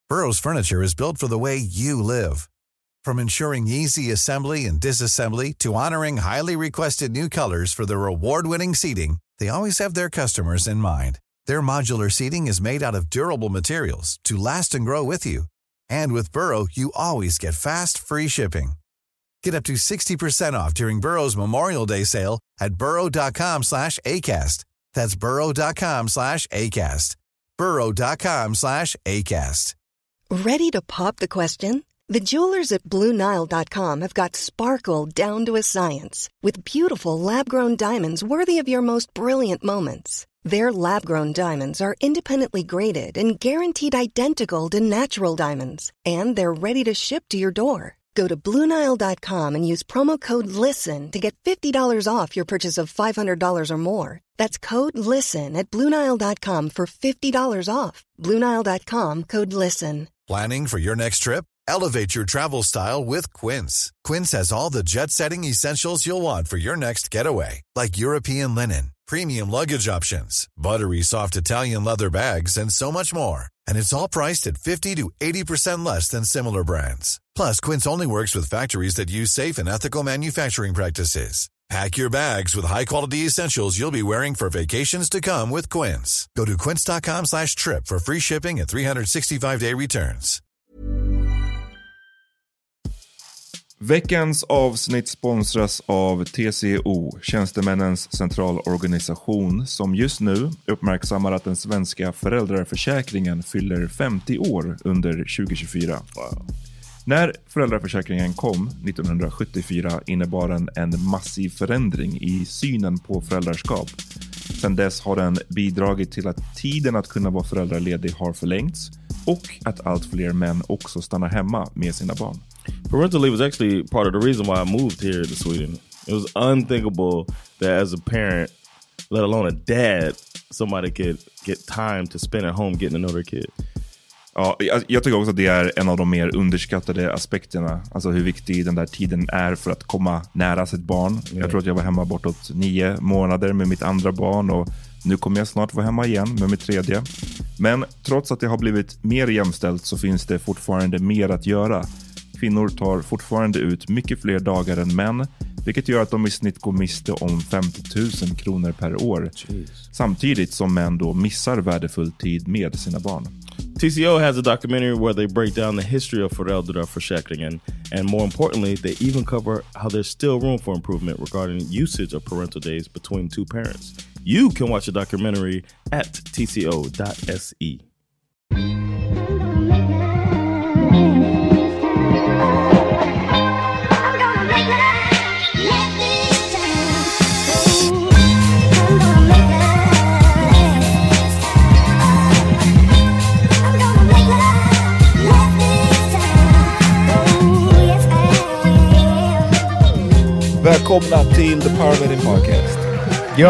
Burrow's furniture is built for the way you live. From ensuring easy assembly and disassembly to honoring highly requested new colors for their award-winning seating, they always have their customers in mind. Their modular seating is made out of durable materials to last and grow with you. And with Burrow, you always get fast, free shipping. Get up to 60% off during Burrow's Memorial Day sale at burrow.com/ACAST. That's burrow.com/ACAST. burrow.com/ACAST. Ready to pop the question? The jewelers at BlueNile.com have got sparkle down to a science with beautiful lab-grown diamonds worthy of your most brilliant moments. Their lab-grown diamonds are independently graded and guaranteed identical to natural diamonds, and they're ready to ship to your door. Go to BlueNile.com and use promo code LISTEN to get $50 off your purchase of $500 or more. That's code LISTEN at BlueNile.com for $50 off. BlueNile.com, code LISTEN. Planning for your next trip? Elevate your travel style with Quince. Quince has all the jet-setting essentials you'll want for your next getaway, like European linen, premium luggage options, buttery soft Italian leather bags, and so much more. And it's all priced at 50 to 80% less than similar brands. Plus, Quince only works with factories that use safe and ethical manufacturing practices. Pack your bags with high-quality essentials you'll be wearing for vacations to come with Quince. Go to quince.com/trip for free shipping and 365-day returns. Veckans avsnitt sponsras av TCO, Tjänstemännens centralorganisation, som just nu uppmärksammar att den svenska föräldraförsäkringen fyller 50 år under 2024. Wow. När föräldraförsäkringen kom 1974 innebar den en massiv förändring i synen på föräldraskap. Sedan dess har den bidragit till att tiden att kunna vara föräldraledig har förlängts och att allt fler män också stannar hemma med sina barn. Parental leave was actually part of the reason why I moved here to Sweden. It was unthinkable that as a parent, let alone a dad, somebody could get time to spend at home getting to know their kid. Ja, jag tycker också att det är en av de mer underskattade aspekterna. Alltså hur viktig den där tiden är för att komma nära sitt barn. Yeah. Jag tror att jag var hemma bortåt 9 månader med mitt andra barn och nu kommer jag snart vara hemma igen med mitt tredje. Men trots att det har blivit mer jämställt så finns det fortfarande mer att göra. Kvinnor tar fortfarande ut mycket fler dagar än män, vilket gör att de i snitt går miste om 50 000 kronor per år. Jeez. Samtidigt som män då missar värdefull tid med sina barn. TCO has a documentary where they break down the history of föräldraförsäkringen, and more importantly, they even cover how there's still room for improvement regarding usage of parental days between two parents. You can watch the documentary at tco.se. Välkomna till The Power Wedding Podcast. Yo!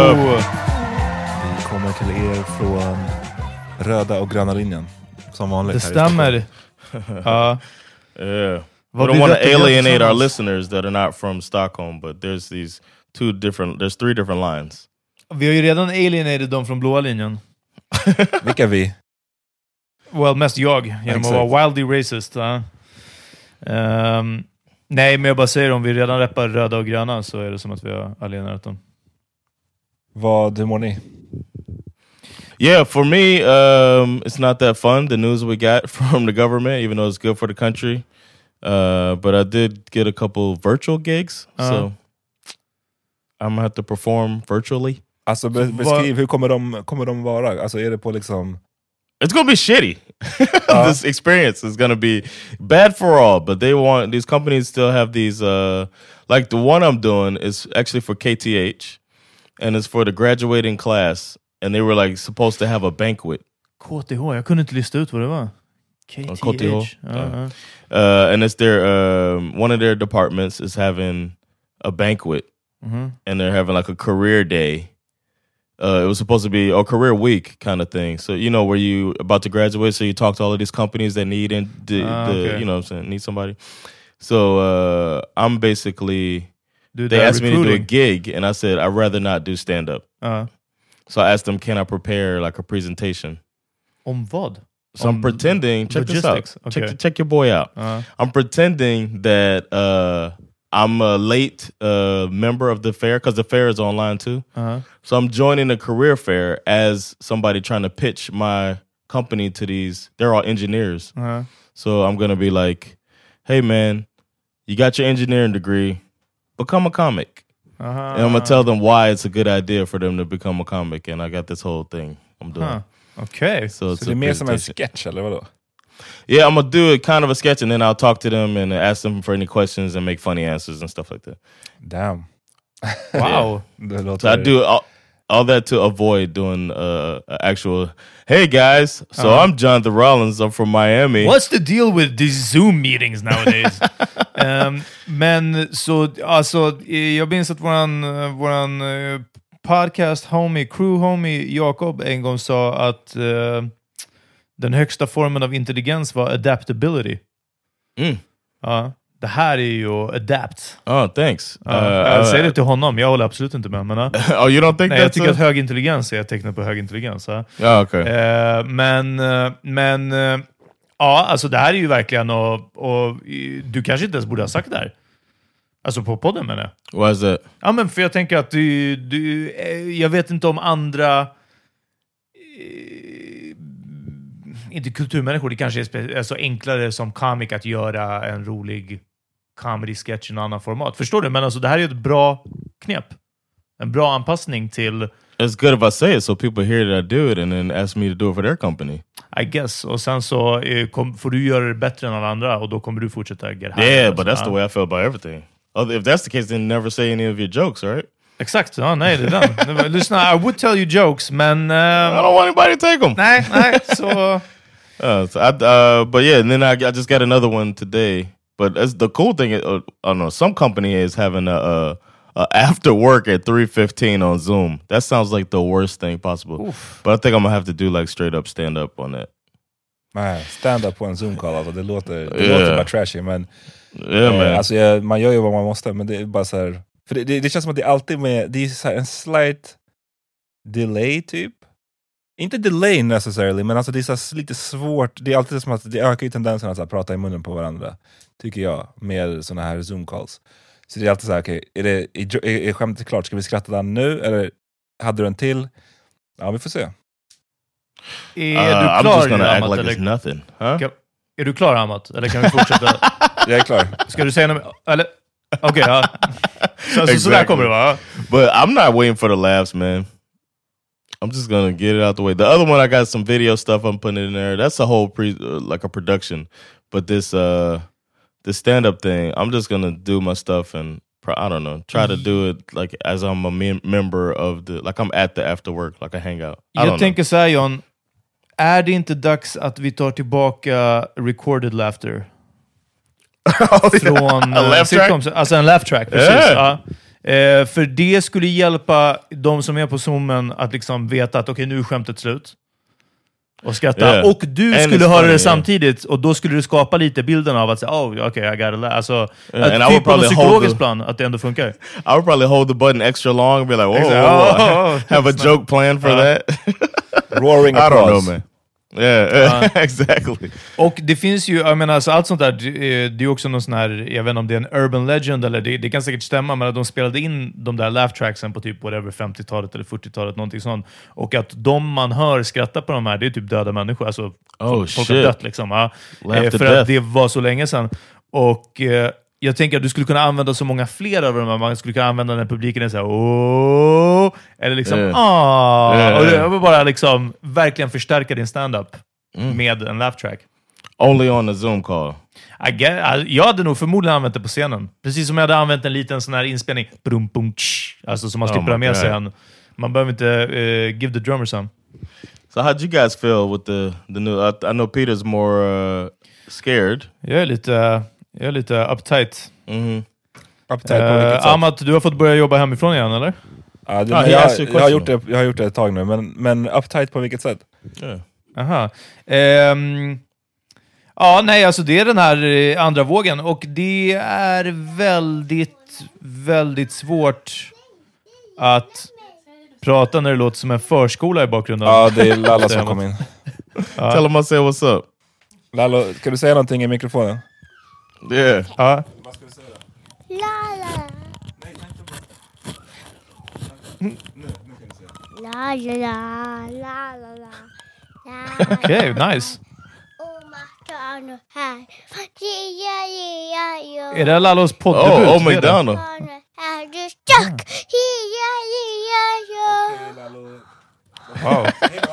Vi kommer till er från röda och gröna linjen. Som vanligt. Det stämmer. Ja. We don't want to alienate our listeners that are not from Stockholm, but there's three different lines. Vi har ju redan alienated dem från blåa linjen. Vilka är vi? Well, mest jag. Genom att vara wildly racist. Nej, men jag bara säger, om vi redan rappar röda och gröna så är det som att vi har alienerat dem. Hur mår ni? Yeah, for me, it's not that fun, the news we got from the government, even though it's good for the country. But I did get a couple virtual gigs, so I'm gonna have to perform virtually. Alltså beskriv, hur kommer de vara? Alltså är det på liksom... It's gonna be shitty. This experience is gonna be bad for all, but these companies still have these, like the one I'm doing is actually for KTH, and it's for the graduating class, and they were like supposed to have a banquet. KTH, jag kunde inte lista ut vad det var. KTH. And it's one of their departments is having a banquet, and they're having like a career day. It was supposed to be a career week kind of thing. So, you know, where you about to graduate, so you talk to all of these companies that need you know what I'm saying, need somebody. So I'm basically, they asked me to do a gig, and I said, I'd rather not do stand-up. So I asked them, can I prepare like a presentation? Om vad? So I'm pretending, check this out. Okay. Check your boy out. I'm pretending that I'm a late member of the fair, because the fair is online too. So I'm joining the career fair as somebody trying to pitch my company to these. They're all engineers. So I'm going to be like, hey man, you got your engineering degree, become a comic. And I'm going to tell them why it's a good idea for them to become a comic. And I got this whole thing I'm doing. Okay. Så det är mer som en sketch, eller vadå? Yeah, I'm going to do it kind of a sketch, and then I'll talk to them and ask them for any questions and make funny answers and stuff like that. Damn. Wow. So I do all that to avoid doing actual, hey guys, so I'm Jonathan Rollins, I'm from Miami. What's the deal with these Zoom meetings nowadays? Men så, alltså, jag minns att våran podcast homie, crew homie Jakob en gång sa att den högsta formen av intelligens var adaptability. Ja, det här är ju adapt. Oh, thanks. Jag säger det till honom, jag håller absolut inte med. Men, oh, you don't think nej, jag tycker att hög intelligens är ett tecken på hög intelligens. Ja, okay. Men ja, alltså det här är ju verkligen och du kanske inte ens borde ha sagt det här. Alltså på podden, menar jag. Why is that? Ja, men för jag tänker att jag vet inte om andra inte kulturmänniskor, det kanske är så enklare som komik att göra en rolig comedy-sketch i en annan format. Förstår du? Men alltså det här är ett bra knep. En bra anpassning till... It's good if I say it so people hear that I do it and then ask me to do it for their company. I guess. Och sen så får du göra det bättre än alla andra och då kommer du fortsätta get high. Yeah, but that's the way I feel about everything. If that's the case, then never say any of your jokes, right? Exakt, ja, nej, det är den. Lyssna, I would tell you jokes, men... I don't want anybody to take them. Nej, så... But yeah, and then I just got another one today. But the cool thing is, I don't know, some company is having a after work at 3:15 on Zoom. That sounds like the worst thing possible. Oof. But I think I'm gonna have to do like straight up stand up on that. Nej, stand up på en Zoom-call, alltså, det låter bara trashy, men alltså, man gör ju vad man måste, men det är bara så här, för det känns som att det är alltid med, det är så här en slight delay typ. Inte delay necessarily, men alltså det är så här lite svårt. Det är alltid som att det ökar ju tendensen att så här, prata i munnen på varandra, tycker jag, med såna här Zoom-calls. Så det är alltid så här, okej, är skämtet klart? Ska vi skratta där nu? Eller hade du en till? Ja, vi får se. Är du klar, I'm just gonna Amat, act like it's nothing. Huh? Är du klar, Amat? Eller kan vi fortsätta? Jag är klar. Ska du säga något? Eller? Okej, ja. Så där kommer det vara. But I'm not waiting for the laughs, man. I'm just gonna get it out the way. The other one, I got some video stuff I'm putting in there. That's a whole like a production. But this stand-up thing, I'm just gonna do my stuff and I don't know, try to do it like as I'm a member of the, like I'm at the after work, like a hangout. Jag tänker så här, John, är det inte dags att vi tar tillbaka recorded laughter? Från sitcoms, alltså en laugh track, precis. Yeah. Ja. För det skulle hjälpa de som är på Zoomen att liksom veta att okej, nu är skämtet slut. Och skratta. Yeah. Och du skulle höra det samtidigt, och då skulle du skapa lite bilden av att säga, oh, okay, I got it. Alltså, typ på någon psykologisk plan, att det ändå funkar. I would probably hold the button extra long and be like, whoa. Have a joke planned for that. Roaring applause. I don't know, man. Yeah, exactly. Och det finns ju, jag menar, alltså, allt sånt där, det är också någon sån här, jag vet inte om det är en urban legend eller det kan säkert stämma, men att de spelade in de där laugh tracksen på typ whatever 50-talet eller 40-talet, någonting sånt, och att de man hör skratta på de här, det är typ döda människor, alltså folk har dött liksom, för att det var så länge sedan. Och jag tänker att du skulle kunna använda så många fler av dem. Man skulle kunna använda när publiken är så här, åh, eller liksom och det var bara liksom verkligen förstärka din stand-up med en laugh track. Only on a Zoom call. Jag hade nog förmodligen använt det på scenen. Precis som jag hade använt en liten sån här inspelning, alltså som man slipper ha med sig en. Man behöver inte give the drummer some. So how'd you guys feel with the new? I know Peter's more scared. Jag är lite uptight. Uptight på vilket sätt? Amat, du har fått börja jobba hemifrån igen, eller? Ja, jag har gjort det ett tag nu, men uptight på vilket sätt? Aha. Ja, nej, alltså det är den här andra vågen, och det är väldigt, väldigt svårt att prata när det låter som en förskola i bakgrunden. Ja, det är Lalla som kom in. Tell him I say what's up. Lalo, kan du säga någonting i mikrofonen? Yeah. Ja. La la. La la la la la la. Okej, nice. Är det Lalos poddebut? Oh, McDonald. Wow.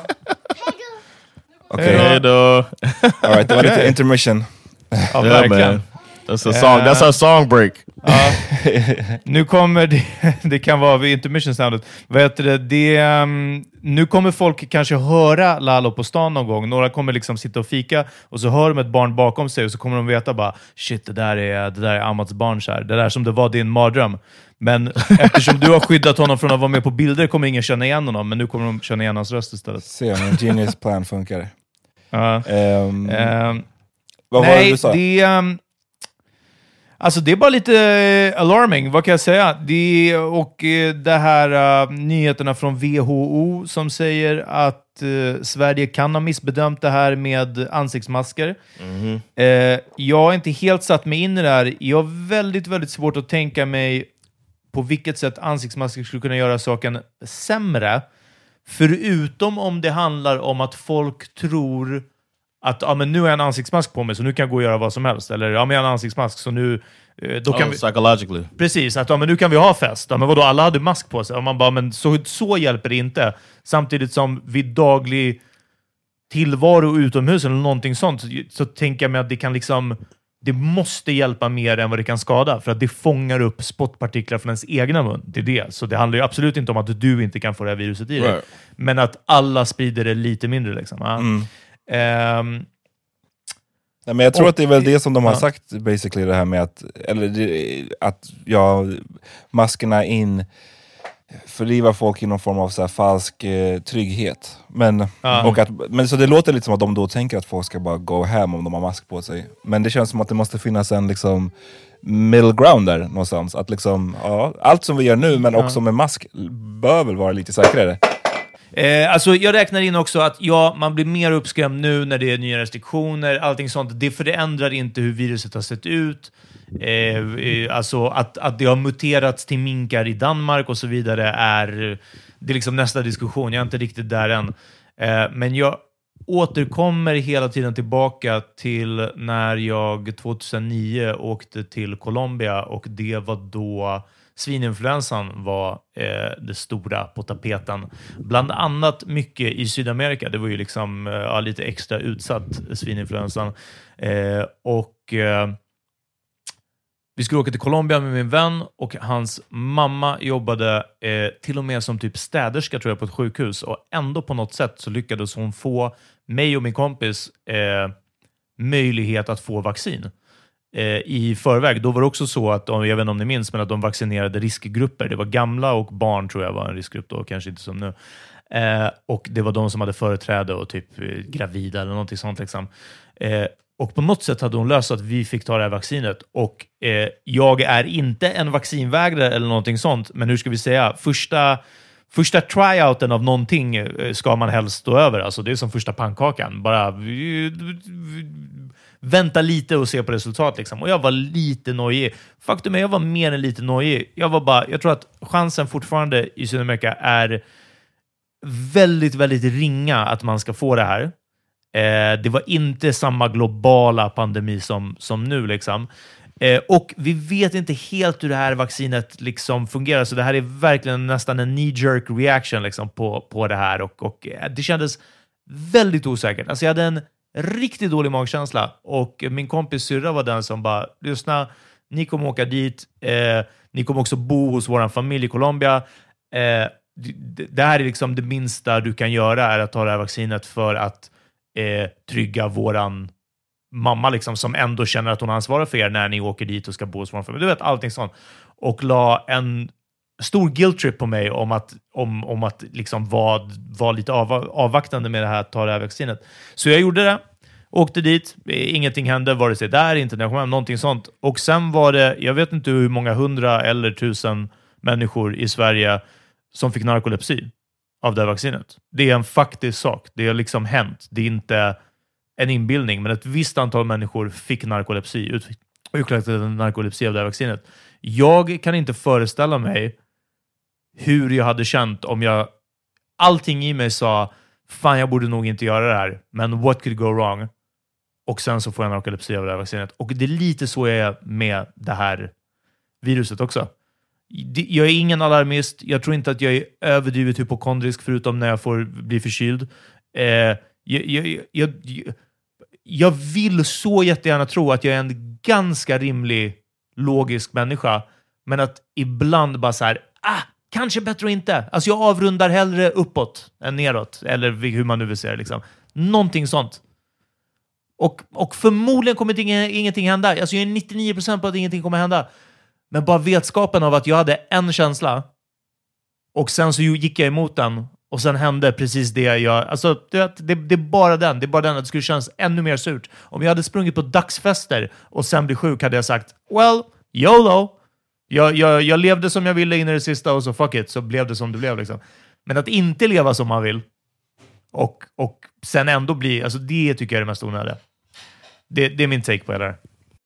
Okej. Hey, då. All right, det var lite intermission. Ja, Yeah, verkligen. man. That's a song. That's our song break. Ja. Nu kommer det kan vara vid intermission soundet. Vad heter det? Nu kommer folk kanske höra Lalo på stan någon gång. Några kommer liksom sitta och fika och så hör de ett barn bakom sig och så kommer de veta bara shit, det där är Amats barn så här. Det där som det var din mardröm. Men eftersom du har skyddat honom från att vara med på bilder kommer ingen känna igen honom, men nu kommer de känna igen hans röst istället. Se om en genius plan funkar. Ja. Vad var det du sa? Alltså det är bara lite alarming, vad kan jag säga? Det här nyheterna från WHO som säger att Sverige kan ha missbedömt det här med ansiktsmasker. Jag har inte helt satt mig in i det här. Jag har väldigt, väldigt svårt att tänka mig på vilket sätt ansiktsmasker skulle kunna göra saken sämre. Förutom om det handlar om att folk tror att men nu har jag en ansiktsmask på mig så nu kan jag gå och göra vad som helst. Eller men jag har en ansiktsmask så nu... Då kan vi, psychologically. Precis, att men nu kan vi ha fest. Men vadå, alla hade mask på sig. Och man bara, men så hjälper det inte. Samtidigt som vid daglig tillvaro utomhus eller någonting sånt så tänker jag mig att det kan liksom... Det måste hjälpa mer än vad det kan skada. För att det fångar upp spottpartiklar från ens egna mun. Det är det. Så det handlar ju absolut inte om att du inte kan få det här viruset i dig. Right. Men att alla sprider det lite mindre liksom. Nej, men jag tror att det är väl det som de har sagt basically, det här med att maskerna fördriva folk i någon form av så här falsk trygghet. Men så det låter lite som att de då tänker att folk ska bara gå hem om de har mask på sig. Men det känns som att det måste finnas en liksom middle ground där någonstans. Att liksom, allt som vi gör nu men också med mask bör väl vara lite säkrare. Alltså jag räknar in också att man blir mer uppskrämd nu när det är nya restriktioner, allting sånt. Det förändrar inte hur viruset har sett ut. Alltså att det har muterats till minkar i Danmark och så vidare det är liksom nästa diskussion. Jag är inte riktigt där än. Men jag återkommer hela tiden tillbaka till när jag 2009 åkte till Colombia och det var då svininfluensan var det stora på tapeten. Bland annat mycket i Sydamerika. Det var ju liksom lite extra utsatt svininfluensan. Vi skulle åka till Colombia med min vän och hans mamma jobbade till och med som typ städerska tror jag på ett sjukhus och ändå på något sätt så lyckades hon få mig och min kompis möjlighet att få vaccin i förväg. Då var det också så att, jag vet inte om ni minns, men att de vaccinerade riskgrupper. Det var gamla och barn tror jag var en riskgrupp då, kanske inte som nu. Och det var de som hade företräde och typ gravida eller någonting sånt liksom. Och på något sätt hade hon löst att vi fick ta det här vaccinet. Och jag är inte en vaccinvägrare eller någonting sånt. Men hur ska vi säga? Första tryouten av någonting ska man helst stå över. Alltså det är som första pannkakan. Bara vänta lite och se på resultat liksom. Och jag var lite nojig. Faktum är jag var mer än lite nojig. Jag tror att chansen fortfarande i Sydamerika är väldigt, väldigt ringa att man ska få det här. Det var inte samma globala pandemi som nu liksom. Och vi vet inte helt hur det här vaccinet liksom fungerar. Så det här är verkligen nästan en knee-jerk reaction liksom på det här. Och det kändes väldigt osäkert. Alltså jag hade en riktigt dålig magkänsla. Och min kompis syrra var den som bara, lyssna, ni kommer åka dit. Ni kommer också bo hos vår familj i Colombia. Det här är liksom det minsta du kan göra är att ta det här vaccinet för att trygga våran mamma liksom, som ändå känner att hon ansvarar för er när ni åker dit och ska bo hos vår familj. Du vet, allting sånt. Och la en stor guilt trip på mig om att liksom vara lite avvaktande med det här, ta det här vaccinet. Så jag gjorde det. Åkte dit. Ingenting hände, vare sig där, inte när jag kom hem, någonting sånt. Och sen var det, jag vet inte hur många 100 eller 1000 människor i Sverige som fick narkolepsi. av det här vaccinet. Det är en faktisk sak. Det har liksom hänt. Det är inte en inbildning, men ett visst antal människor fick narkolepsi, utvecklade narkolepsi av det här vaccinet. Jag kan inte föreställa mig hur jag hade känt om allting i mig sa, fan jag borde nog inte göra det här, men what could go wrong? Och sen så får jag narkolepsi av det här vaccinet. Och det är lite så jag är med det här viruset också. Jag är ingen alarmist. Jag tror inte att jag är överdrivet hypokondrisk förutom när jag får bli förkyld. Jag vill så jättegärna tro att jag är en ganska rimlig, logisk människa. Men att ibland bara så här, kanske bättre inte. Alltså jag avrundar hellre uppåt än neråt. Eller hur man nu vill säga det liksom. Någonting sånt. Och förmodligen kommer ingenting hända. Alltså jag är 99% på att ingenting kommer hända. Men bara vetskapen av att jag hade en känsla och sen så gick jag emot den och sen hände precis det jag... Alltså det är bara den. Det är bara den att det skulle kännas ännu mer surt. Om jag hade sprungit på dagsfester och sen blir sjuk hade jag sagt, well, YOLO. Jag levde som jag ville in i det sista och så fuck it, så blev det som det blev liksom. Men att inte leva som man vill och sen ändå bli... Alltså det tycker jag är det mest onödiga. Det är min take på det där.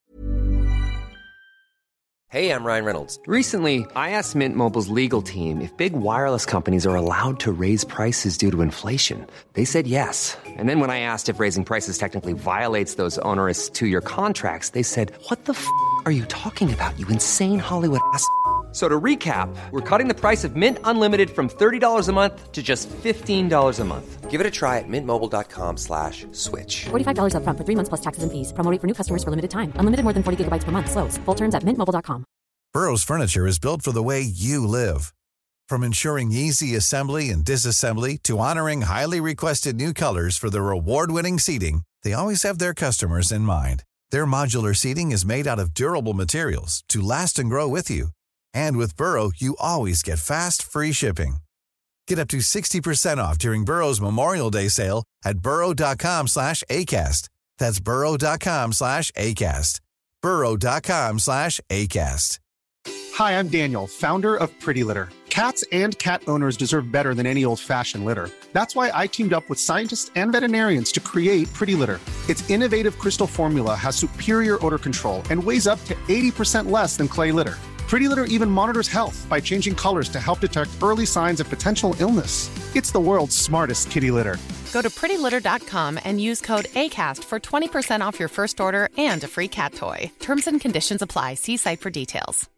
Hey, I'm Ryan Reynolds. Recently, I asked Mint Mobile's legal team if big wireless companies are allowed to raise prices due to inflation. They said yes. And then when I asked if raising prices technically violates those onerous two-year contracts, they said, what the f*** are you talking about, you insane Hollywood ass? So to recap, we're cutting the price of Mint Unlimited from $30 a month to just $15 a month. Give it a try at mintmobile.com/switch. $45 up front for 3 months plus taxes and fees. Promo rate for new customers for limited time. Unlimited more than 40 gigabytes per month. Slows full terms at mintmobile.com. Burrow's furniture is built for the way you live. From ensuring easy assembly and disassembly to honoring highly requested new colors for their award-winning seating, they always have their customers in mind. Their modular seating is made out of durable materials to last and grow with you. And with Burrow, you always get fast, free shipping. Get up to 60% off during Burrow's Memorial Day sale at burrow.com/ACAST. That's burrow.com/ACAST. burrow.com/ACAST. Hi, I'm Daniel, founder of Pretty Litter. Cats and cat owners deserve better than any old-fashioned litter. That's why I teamed up with scientists and veterinarians to create Pretty Litter. Its innovative crystal formula has superior odor control and weighs up to 80% less than clay litter. Pretty Litter even monitors health by changing colors to help detect early signs of potential illness. It's the world's smartest kitty litter. Go to prettylitter.com and use code ACAST for 20% off your first order and a free cat toy. Terms and conditions apply. See site for details.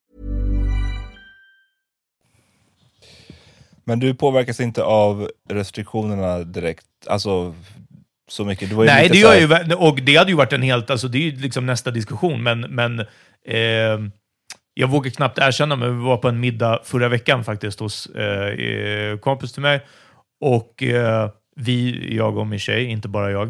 Men du påverkas inte av restriktionerna direkt? Alltså så mycket? Nej, det gör ju, och det hade ju varit en helt... Alltså det är ju liksom nästa diskussion, men jag vågar knappt erkänna, men vi var på en middag förra veckan faktiskt hos kompis till mig. Och jag och min tjej, inte bara jag.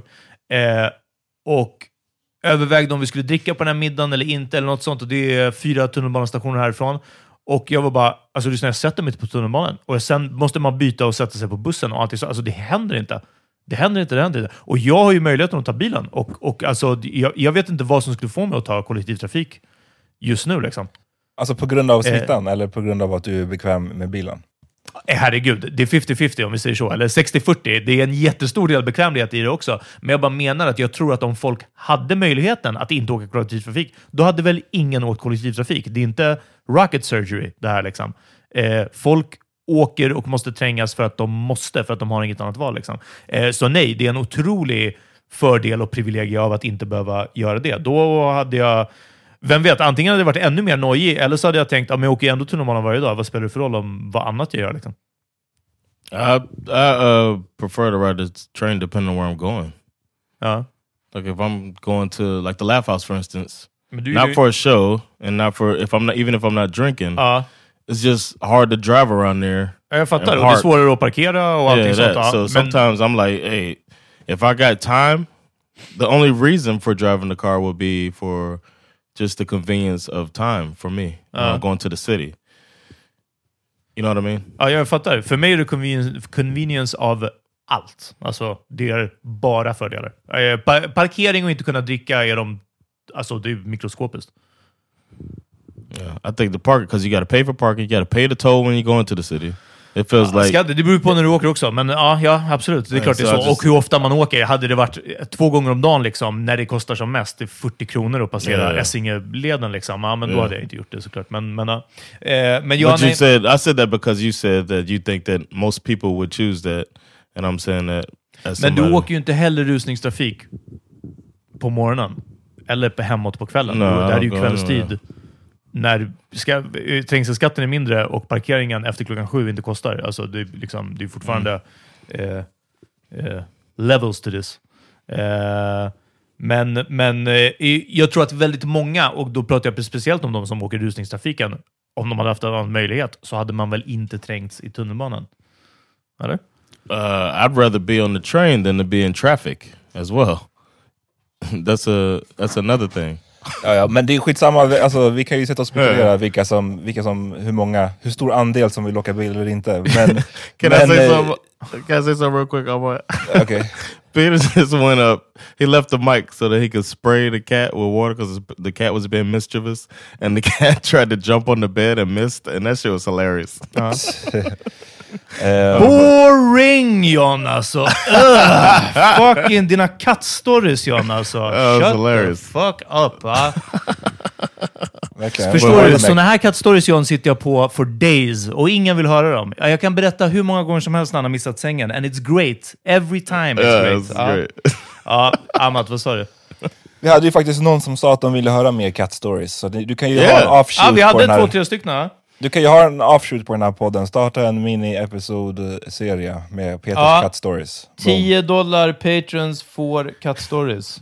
Och övervägde om vi skulle dricka på den här middagen eller inte, eller något sånt. Och det är 4 tunnelbanestationer härifrån. Och jag var bara, alltså lyssna, jag sätter mig inte på tunnelbanan. Och sen måste man byta och sätta sig på bussen och allting så. Alltså det händer inte. Det händer inte. Och jag har ju möjligheten att ta bilen. Och alltså, jag vet inte vad som skulle få mig att ta kollektivtrafik just nu liksom. Alltså på grund av smittan eller på grund av att du är bekväm med bilen? Herregud, det är 50-50 om vi säger så. Eller 60-40. Det är en jättestor del bekvämlighet i det också. Men jag bara menar att jag tror att om folk hade möjligheten att inte åka kollektivtrafik, då hade väl ingen åkt kollektivtrafik. Det är inte rocket surgery det här liksom. Folk åker och måste trängas för att de måste, för att de har inget annat val liksom. Så nej, det är en otrolig fördel och privilegie av att inte behöva göra det. Då hade jag... Vem vet, antingen hade det varit ännu mer nojig, eller så hade jag tänkt, men jag åker ändå tunnelbanan varje dag. Vad spelar det för roll om vad annat jag gör liksom? I prefer to ride the train depending on where I'm going. Like if I'm going to like the Laugh House for instance, not for a show and not for if I'm not drinking. It's just hard to drive around there. Jag fattar, och det är svårare att parkera och allting sånt. So sometimes I'm like, hey, if I got time, the only reason for driving the car would be for just the convenience of time for me when I'm going to the city. You know what I mean? Ja, jag fattar. För mig är det convenience av allt. Alltså, det är bara fördelar. Parkering och inte kunna dricka är det är mikroskopiskt. Yeah, I think the park, because you got to pay for parking, you got to pay the toll when you go into the city. It feels like... Det beror på när du åker också, men ja absolut. Det är klart det är så. Och hur ofta man åker. Hade det varit 2 gånger om dagen liksom, när det kostar som mest, det är 40 kronor att passera Essingeleden liksom. Ja, men då hade jag inte gjort det såklart. Men jag... I said that because you said that you think that most people would choose that. And I'm saying that... Men du åker ju inte heller rusningstrafik på morgonen. Eller på hemåt på kvällen. Där är ju kvällstid. När trängselskatten är mindre och parkeringen efter 7:00 inte kostar. Alltså det är fortfarande levels to this. Men jag tror att väldigt många, och då pratar jag speciellt om de som åker rusningstrafiken, om de hade haft en annan möjlighet så hade man väl inte trängts i tunnelbanan. Eller? I'd rather be on the train than to be in traffic as well. That's another thing. Ja, men det är skitsamma, alltså, vi kan ju sätta och spekulera hur stor andel som vill åka bil eller inte. Men, can I say something real quick? Okay. Peter just went up. He left the mic so that he could spray the cat with water because the cat was being mischievous, and the cat tried to jump on the bed and missed, and that shit was hilarious. Boring, John, alltså. Fucking dina kattstories, John, alltså. Shut the fuck up, va? Förstår du? Såna här kattstories, John, sitter jag på for days och ingen vill höra dem. Jag kan berätta hur många gånger som helst när han har missat sängen, and it's great. Every time it's great. Ja, Amat, vad sa du? Vi hade ju faktiskt någon som sa att de ville höra mer cat stories, så du kan ju ha en offshoot vi hade på den här. 2-3 stycken. Du kan ju ha en offshoot på den här podden. Starta en mini-episod-serie med Peters cat stories. $10 patrons får cat stories.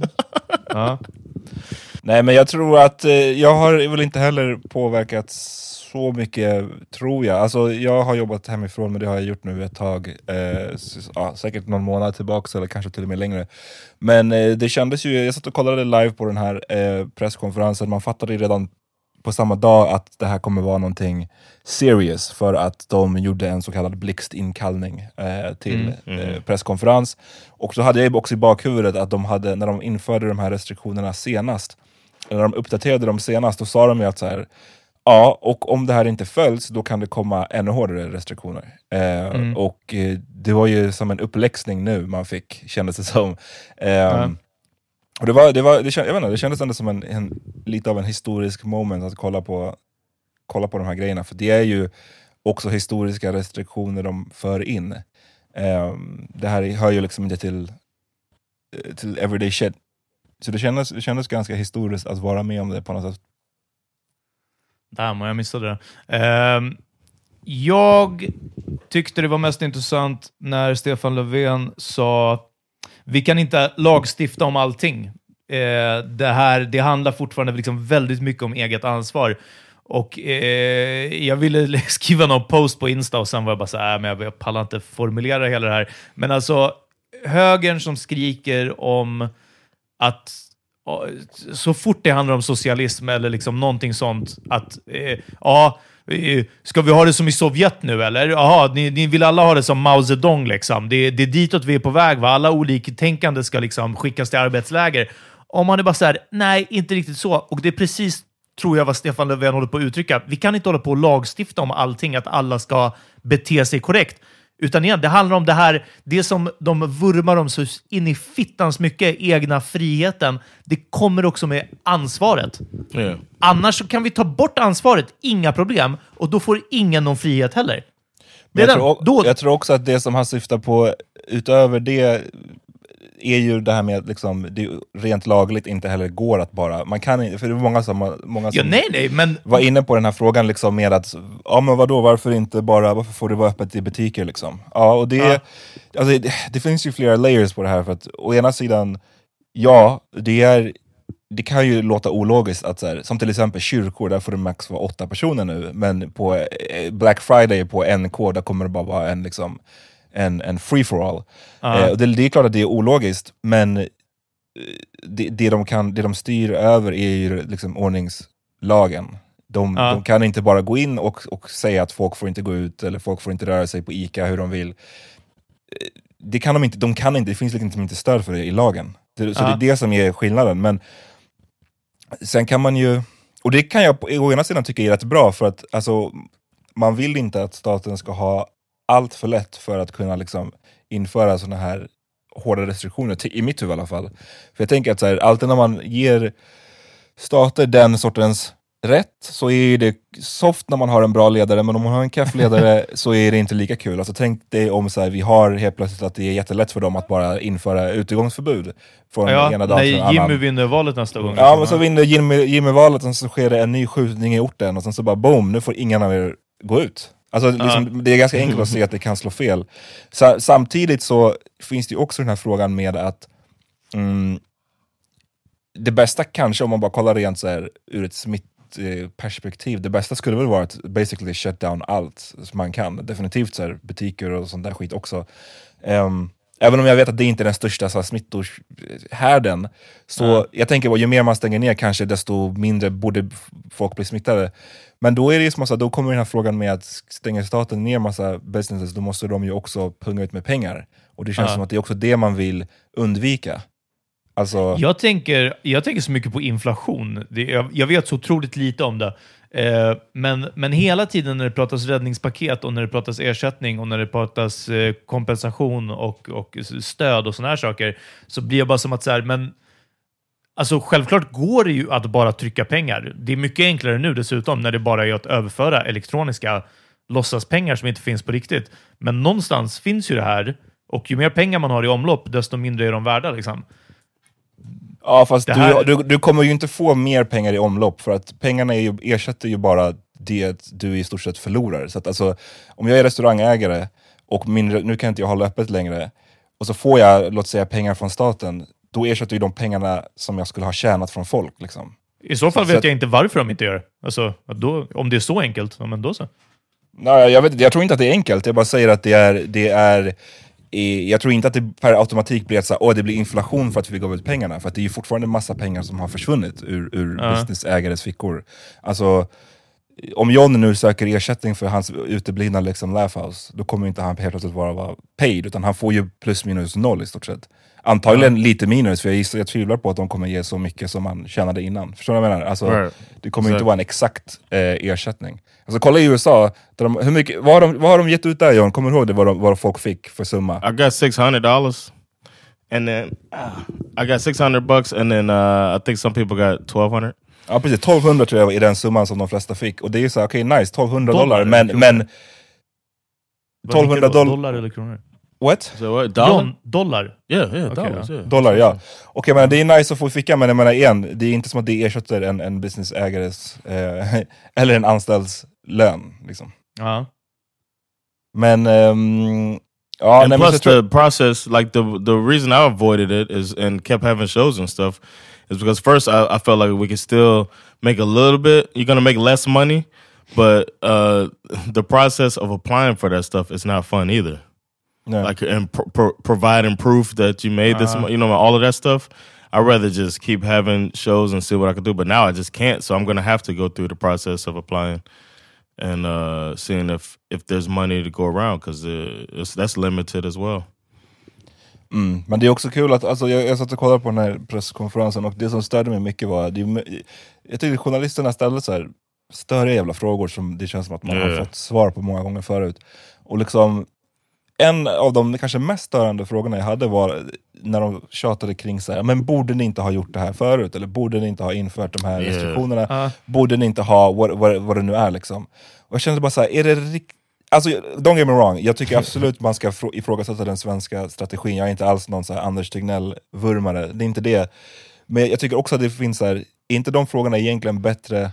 Nej, men jag tror att jag har väl inte heller påverkat så mycket, tror jag. Alltså, jag har jobbat hemifrån, men det har jag gjort nu ett tag. Säkert någon månad tillbaka, eller kanske till och med längre. Men det kändes ju, jag satt och kollade live på den här presskonferensen. Man fattade ju redan på samma dag att det här kommer vara någonting serious, för att de gjorde en så kallad blixtinkallning till presskonferens. Och så hade jag också i bakhuvudet att de hade, när de införde de här restriktionerna senast, eller när de uppdaterade dem senast, då sa de ju att så här, ja, och om det här inte följs, då kan det komma ännu hårdare restriktioner. Och det var ju som en uppläxning nu man fick, kändes det som. Och det kändes ändå som en lite av en historisk moment att kolla på de här grejerna, för det är ju också historiska restriktioner de för in. Det här hör ju liksom inte till everyday shit. Så det kändes ganska historiskt att vara med om det på något sätt. Jag missade det. Jag tyckte det var mest intressant när Stefan Löfven sa: vi kan inte lagstifta om allting. Det handlar fortfarande liksom väldigt mycket om eget ansvar. Och jag ville skriva någon post på Insta och sen var jag bara så här, men jag pallar inte formulera hela det här. Men alltså, högern som skriker om att så fort det handlar om socialism eller liksom någonting sånt, att ska vi ha det som i Sovjet nu eller? Jaha, ni vill alla ha det som Mao Zedong liksom. Det är ditåt vi är på väg, va? Alla oliktänkande ska liksom skickas till arbetsläger. Om man är bara så här, nej, inte riktigt så. Och det är precis, tror jag, vad Stefan Löfven håller på att uttrycka. Vi kan inte hålla på och lagstifta om allting, att alla ska bete sig korrekt. Utan igen, det handlar om det här, det som de vurmar om så in i fittans mycket, egna friheten. Det kommer också med ansvaret. Yeah. Annars så kan vi ta bort ansvaret, inga problem. Och då får ingen någon frihet heller. Jag tror också att det som han syftar på utöver det är ju det här med att liksom, det rent lagligt inte heller går att bara, man kan inte, för det är många som men var inne på den här frågan liksom med att, ja men vadå, varför får det vara öppet i butiker liksom? Ja, och alltså, det finns ju flera layers på det här, för att å ena sidan, ja, det kan ju låta ologiskt att så här, som till exempel kyrkor, där får det max vara 8 personer nu, men på Black Friday på NK, där kommer det bara vara en free for all. Och det är klart att det är ologiskt, men det de styr över är ju liksom ordningslagen. De kan inte bara gå in och säga att folk får inte gå ut, eller folk får inte röra sig på ICA hur de vill. Det kan de inte, det finns liksom inte stöd för det i lagen. Så det är det som är skillnaden. Men sen kan man ju, och det kan jag å ena sidan tycka är rätt bra, för att alltså, man vill inte att staten ska ha allt för lätt för att kunna liksom införa såna här hårda restriktioner, i mitt huvud i alla fall. För jag tänker att så här, alltid när man ger stater den sortens rätt så är det soft när man har en bra ledare, men om man har en kaffledare så är det inte lika kul. Alltså tänk dig om så här, vi har helt plötsligt att det är jättelätt för dem att bara införa utegångsförbud från ena dagen till en annan. Jimmy vinner valet nästa gång. Ja, men så vinner Jimmy valet och så sker det en ny skjutning i orten och sen så bara boom, nu får ingen av er gå ut. Alltså liksom, det är ganska enkelt att se att det kan slå fel. Samtidigt så finns det ju också den här frågan med att det bästa kanske, om man bara kollar rent så här ur ett perspektiv, det bästa skulle väl vara att basically shut down allt som man kan. Definitivt så här, butiker och sånt där skit också. Även om jag vet att det inte är den största så här, smittohärden, så jag tänker att ju mer man stänger ner kanske desto mindre borde folk bli smittade. Men då är det ju som då kommer den här frågan med att stänger staten ner massa businesses, då måste de ju också punga ut med pengar. Och det känns som att det är också det man vill undvika. Alltså... Jag tänker så mycket på inflation. Jag vet så otroligt lite om det. Men hela tiden när det pratas räddningspaket och när det pratas ersättning och när det pratas kompensation och stöd och såna här saker, så blir jag bara som att så här, men alltså självklart går det ju att bara trycka pengar. Det är mycket enklare nu dessutom när det bara är att överföra elektroniska låtsaspengar som inte finns på riktigt. Men någonstans finns ju det här, och ju mer pengar man har i omlopp desto mindre är de värda liksom. Ja, fast du kommer ju inte få mer pengar i omlopp, för att pengarna ersätter ju bara det du i stort sett förlorar. Så att alltså, om jag är restaurangägare och nu kan inte jag hålla öppet längre, och så får jag, låt säga, pengar från staten, då ersätter ju de pengarna som jag skulle ha tjänat från folk liksom. I så fall vet jag inte varför de inte gör det. Alltså, om det är så enkelt, men då så. Nej, jag tror inte att det är enkelt. Jag bara säger att det är jag tror inte att det per automatik blir att det blir inflation för att vi gav ut pengarna. För att det är ju fortfarande en massa pengar som har försvunnit ur businessägares fickor. Alltså, om John nu söker ersättning för hans uteblivna liksom laugh house, då kommer inte han helt plötsligt vara paid, utan han får ju plus minus noll i stort sett. Antagligen lite minus, för jag tvivlar på att de kommer ge så mycket som man tjänade innan. Förstår du vad jag menar? Alltså, det kommer inte vara en exakt ersättning. Alltså kolla i USA, hur mycket, vad har de gett ut där, John? Kommer du ihåg det, vad folk fick för summa? I got $600 and then I got $600 and then I think some people got $1,200. Ja, precis. 1200 tror jag är den summan som de flesta fick. Och det är ju så, okej, nice, $1,200, men $1,200 dollar eller kronor? What? So what? Dollar? Dollar? Yeah, dollars, yeah. Dollar, ja. Okej, men det är nice att få ficka, men jag menar igen, det är inte som att det ersätter en businessägares eller en anställds lön, liksom. Ja. Men and plus the process, like the reason I avoided it is and kept having shows and stuff is because first I felt like we could still make a little bit. You're gonna make less money, but the process of applying for that stuff is not fun either. No. Like and providing proof that you made this, you know, all of that stuff. I'd rather just keep having shows and see what I could do. But now I just can't, so I'm gonna have to go through the process of applying and seeing if there's money to go around, because that's limited as well. Men det är också kul att, alltså jag satt och kollade på den här presskonferensen, och det som störde mig mycket var jag tyckte journalisterna ställde så här större jävla frågor som det känns som att man har fått svar på många gånger förut. Och liksom en av de kanske mest störande frågorna jag hade var när de tjatade kring så här, men borde ni inte ha gjort det här förut? Eller borde ni inte ha infört de här restriktionerna? Borde ni inte ha vad det nu är liksom? Och jag kände bara så här, är det alltså, don't get me wrong, jag tycker absolut man ska ifrågasätta den svenska strategin. Jag är inte alls någon så här Anders Tegnell-vurmare, det är inte det. Men jag tycker också att det finns så här, är inte de frågorna egentligen bättre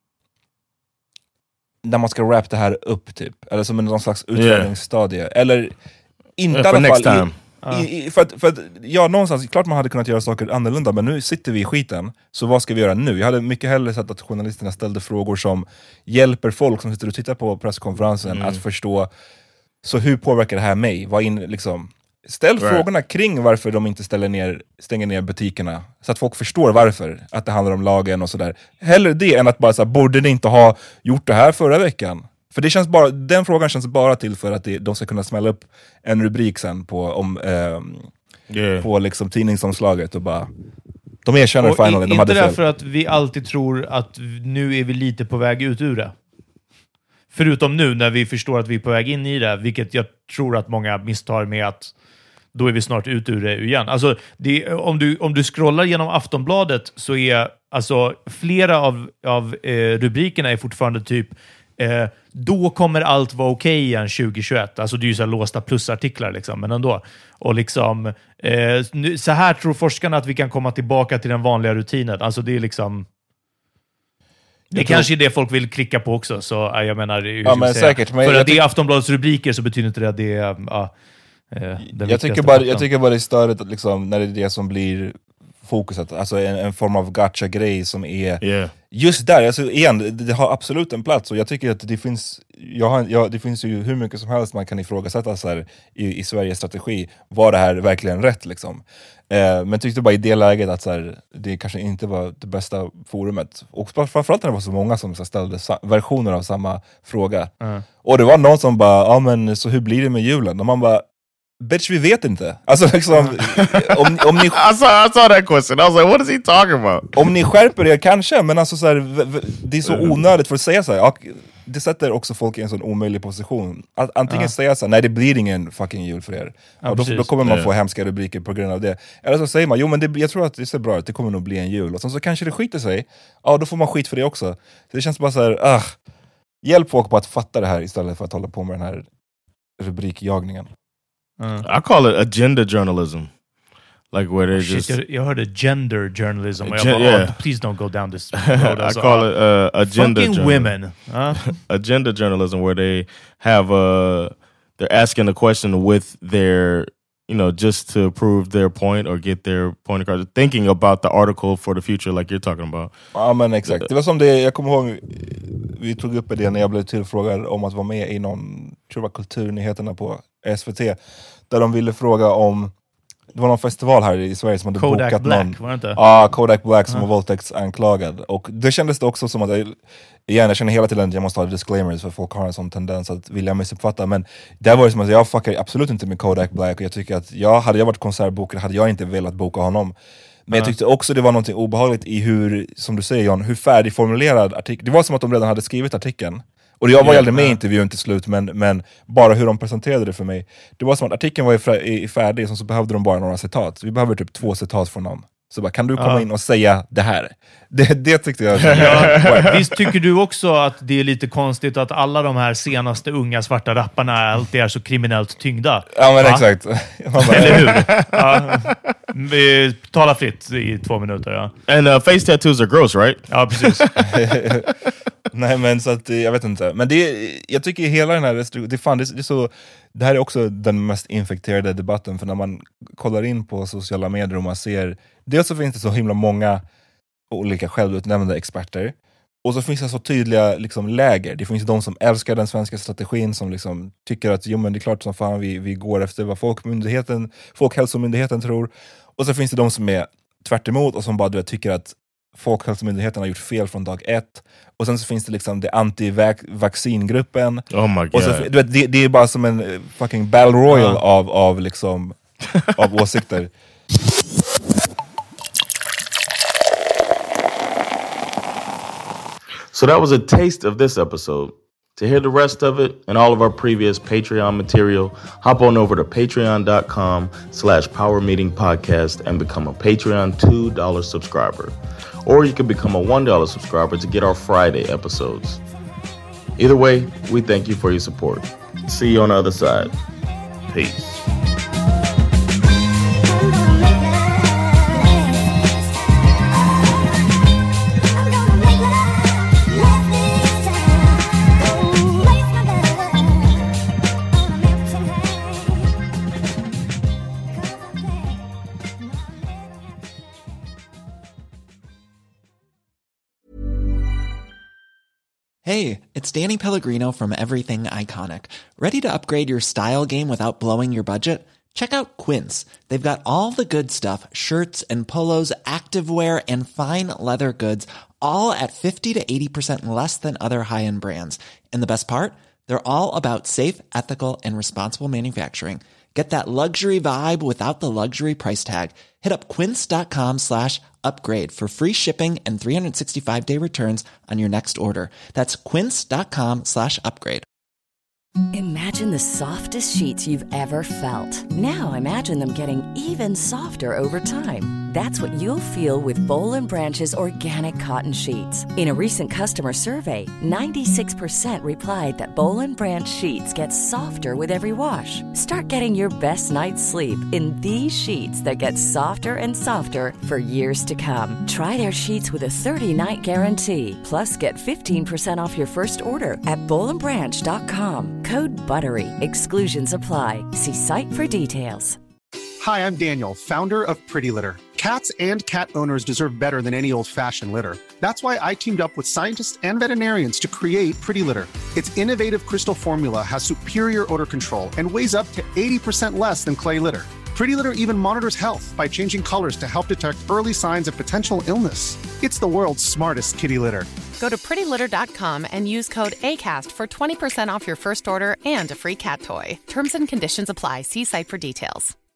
när man ska wrap det här upp typ, eller som någon slags utvärderingsstadie, eller inte i alla fall för att ja, någonstans, klart man hade kunnat göra saker annorlunda, men nu sitter vi i skiten, så vad ska vi göra nu? Jag hade mycket hellre sett att journalisterna ställde frågor som hjälper folk som sitter och tittar på presskonferensen att förstå, så hur påverkar det här mig? Ställ frågorna kring varför de inte stänger ner butikerna, så att folk förstår varför, att det handlar om lagen och sådär. Hellre det än att bara så här, borde ni inte ha gjort det här förra veckan? För det känns bara, den frågan känns bara till för att de ska kunna smälla upp en rubrik sen på liksom tidningsomslaget och bara, de erkänner finally, de hade fel. Inte därför att vi alltid tror att nu är vi lite på väg ut ur det. Förutom nu när vi förstår att vi är på väg in i det, vilket jag tror att många misstar med att då är vi snart ut ur det igen. Alltså, om du scrollar genom Aftonbladet så är alltså flera av rubrikerna är fortfarande typ då kommer allt vara okej igen 2021. Alltså det är ju så här låsta plusartiklar liksom, men ändå. Och liksom så här tror forskarna att vi kan komma tillbaka till den vanliga rutinen. Alltså det är liksom det kanske är det folk vill klicka på också, så jag menar ja, men säkert, men för att det är Aftonbladets rubriker så betyder inte det att det är jag tycker bara det är störigt att liksom, när det är det som blir fokuset, alltså en form av gacha-grej som är just där, alltså igen, det har absolut en plats och jag tycker att det finns det finns ju hur mycket som helst man kan ifrågasätta så här, i Sveriges strategi, var det här verkligen rätt liksom. Men tyckte bara i det läget att så här, det kanske inte var det bästa forumet, och framförallt när det var så många som så ställde versioner av samma fråga och det var någon som bara, ja men så hur blir det med julen? Och man bara, bitch, vi vet inte. Alltså liksom om ni I saw that question. I was like, what is he talking about? Om ni skärper er kanske, men alltså så här, det är så onödigt för att säga så här. Det sätter också folk i en sån omöjlig position. Att antingen säga så här, nej det blir ingen fucking jul för er. Och då kommer man få hemska rubriker på grund av det. Eller så säger man, jo men jag tror att det ser bra ut, det kommer nog bli en jul. Och så kanske det skiter sig. Ja, då får man skit för det också. Så det känns bara så här, hjälp folk på att fatta det här istället för att hålla på med den här rubrikjagningen. I call it agenda journalism. Like where they just... Jag hörde gender journalism. Please don't go down this road. I call it agenda fucking women. Agenda journalism, where they have they're asking a question with their, you know, just to prove their point or get their point across, thinking about the article for the future like you're talking about. Ja men exakt. Det var som det, jag kommer ihåg, vi tog upp det när jag blev tillfrågad om att vara med i någon, tror jag var Kulturnyheterna på SVT, där de ville fråga om, det var någon festival här i Sverige som hade Kodak bokat Black, någon. var det inte? Ja, Kodak Black som var våldtäktsanklagad. Och det kändes det också som att jag känner hela tiden att jag måste ha disclaimers för folk har en sån tendens att vilja missuppfatta. Men där var det som att jag fuckar absolut inte med Kodak Black, och jag tycker att hade jag varit konsertbokare hade jag inte velat boka honom. Men jag tyckte också det var något obehagligt i hur, som du säger John, hur färdigformulerad artikeln. Det var som att de redan hade skrivit artikeln. Och jag var aldrig med i intervjun till slut, men bara hur de presenterade det för mig. Det var som att artikeln var färdig, så behövde de bara några citat. Vi behöver typ 2 citat från dem. Så bara, kan du komma in och säga det här? Det tyckte jag. Visst tycker du också att det är lite konstigt att alla de här senaste unga svarta rapparna alltid är så kriminellt tyngda? Ja men exakt. Eller hur? Tala fritt i 2 minuter. Ja. And face tattoos are gross, right? Ja, precis. Nej men så att jag vet inte. Men jag tycker hela den här det här är också den mest infekterade debatten, för när man kollar in på sociala medier och man ser, dels så finns det så himla många olika självutnämnda experter, och så finns det så tydliga liksom läger. Det finns de som älskar den svenska strategin, som liksom tycker att jo men det är klart som fan vi går efter vad Folkhälsomyndigheten tror, och så finns det de som är tvärt emot och som bara tycker att Folkhälsomyndigheten har gjort fel från dag 1. Och sen så finns det liksom det anti-vaccingruppen. Oh my God. Och så, du vet, det är bara som en fucking battle royal av liksom av åsikter. So that was a taste of this episode. To hear the rest of it and all of our previous Patreon material, hop on over to patreon.com/powermeetingpodcast and become a Patreon $2 subscriber. Or you can become a $1 subscriber to get our Friday episodes. Either way, we thank you for your support. See you on the other side. Peace. Hey, it's Danny Pellegrino from Everything Iconic. Ready to upgrade your style game without blowing your budget? Check out Quince. They've got all the good stuff, shirts and polos, activewear, and fine leather goods, all at 50 to 80% less than other high-end brands. And the best part? They're all about safe, ethical, and responsible manufacturing. Get that luxury vibe without the luxury price tag. Hit up quince.com/upgrade for free shipping and 365-day returns on your next order. That's quince.com/upgrade. Imagine the softest sheets you've ever felt. Now imagine them getting even softer over time. That's what you'll feel with Boll & Branch's organic cotton sheets. In a recent customer survey, 96% replied that Boll & Branch sheets get softer with every wash. Start getting your best night's sleep in these sheets that get softer and softer for years to come. Try their sheets with a 30-night guarantee. Plus, get 15% off your first order at bollandbranch.com. Code BUTTERY. Exclusions apply. See site for details. Hi, I'm Daniel, founder of Pretty Litter. Cats and cat owners deserve better than any old-fashioned litter. That's why I teamed up with scientists and veterinarians to create Pretty Litter. Its innovative crystal formula has superior odor control and weighs up to 80% less than clay litter. Pretty Litter even monitors health by changing colors to help detect early signs of potential illness. It's the world's smartest kitty litter. Go to prettylitter.com and use code ACAST for 20% off your first order and a free cat toy. Terms and conditions apply. See site for details.